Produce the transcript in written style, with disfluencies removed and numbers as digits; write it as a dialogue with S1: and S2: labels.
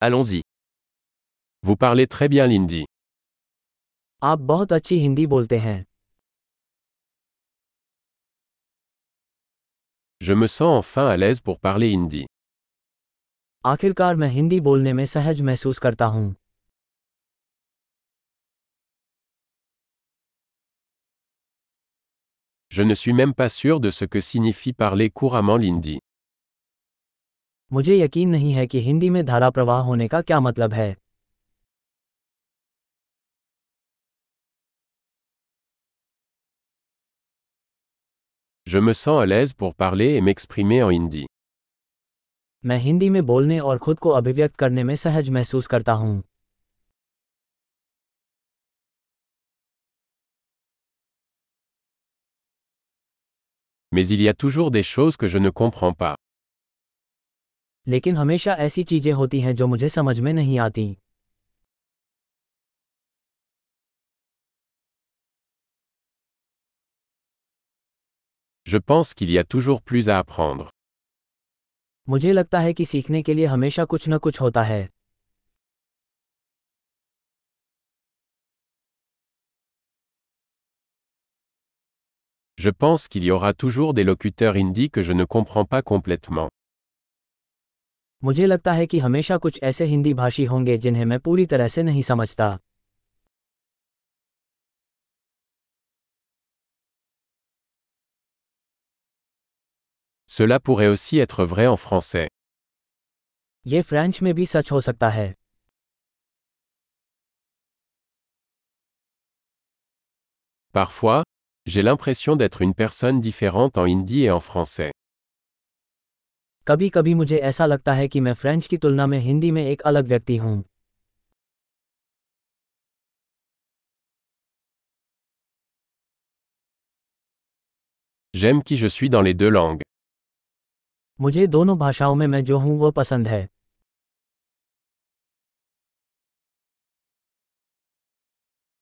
S1: Allons-y.
S2: Vous parlez très bien l'hindi.
S3: आप बहुत अच्छी हिंदी बोलते हैं।
S2: Je me sens enfin à l'aise pour parler hindi.
S3: आखिरकार मैं हिंदी बोलने में सहज महसूस करता हूँ।
S2: Je ne suis même pas sûr de ce que signifie parler couramment l'hindi.
S3: मुझे यकीन नहीं है कि हिंदी में धारा प्रवाह होने का क्या मतलब है।
S2: Je me sens à l'aise pour parler et m'exprimer en hindi.
S3: मैं हिंदी में बोलने और खुद को अभिव्यक्त करने में सहज महसूस करता हूँ।
S2: Mais il y a toujours des choses que je ne comprends pas.
S3: लेकिन हमेशा ऐसी चीजें होती हैं जो मुझे समझ में नहीं आती।
S2: Je pense qu'il y a toujours plus à apprendre.
S3: मुझे लगता है कि सीखने के लिए हमेशा कुछ न कुछ होता है।
S2: Je pense qu'il y aura toujours des locuteurs hindi que je ne comprends pas complètement.
S3: मुझे लगता है कि हमेशा कुछ ऐसे हिंदी भाषी होंगे जिन्हें मैं पूरी तरह से नहीं समझता।
S2: Cela pourrait aussi être vrai en français.
S3: ये फ्रेंच में भी सच हो सकता है।
S2: Parfois, j'ai l'impression d'être une personne différente en hindi et en français.
S3: कभी कभी मुझे ऐसा लगता है कि मैं फ्रेंच की तुलना में हिंदी में एक अलग व्यक्ति हूँ।
S2: J'aime qui je suis dans les deux langues.
S3: मुझे दोनों भाषाओं में मैं जो हूँ वो पसंद है।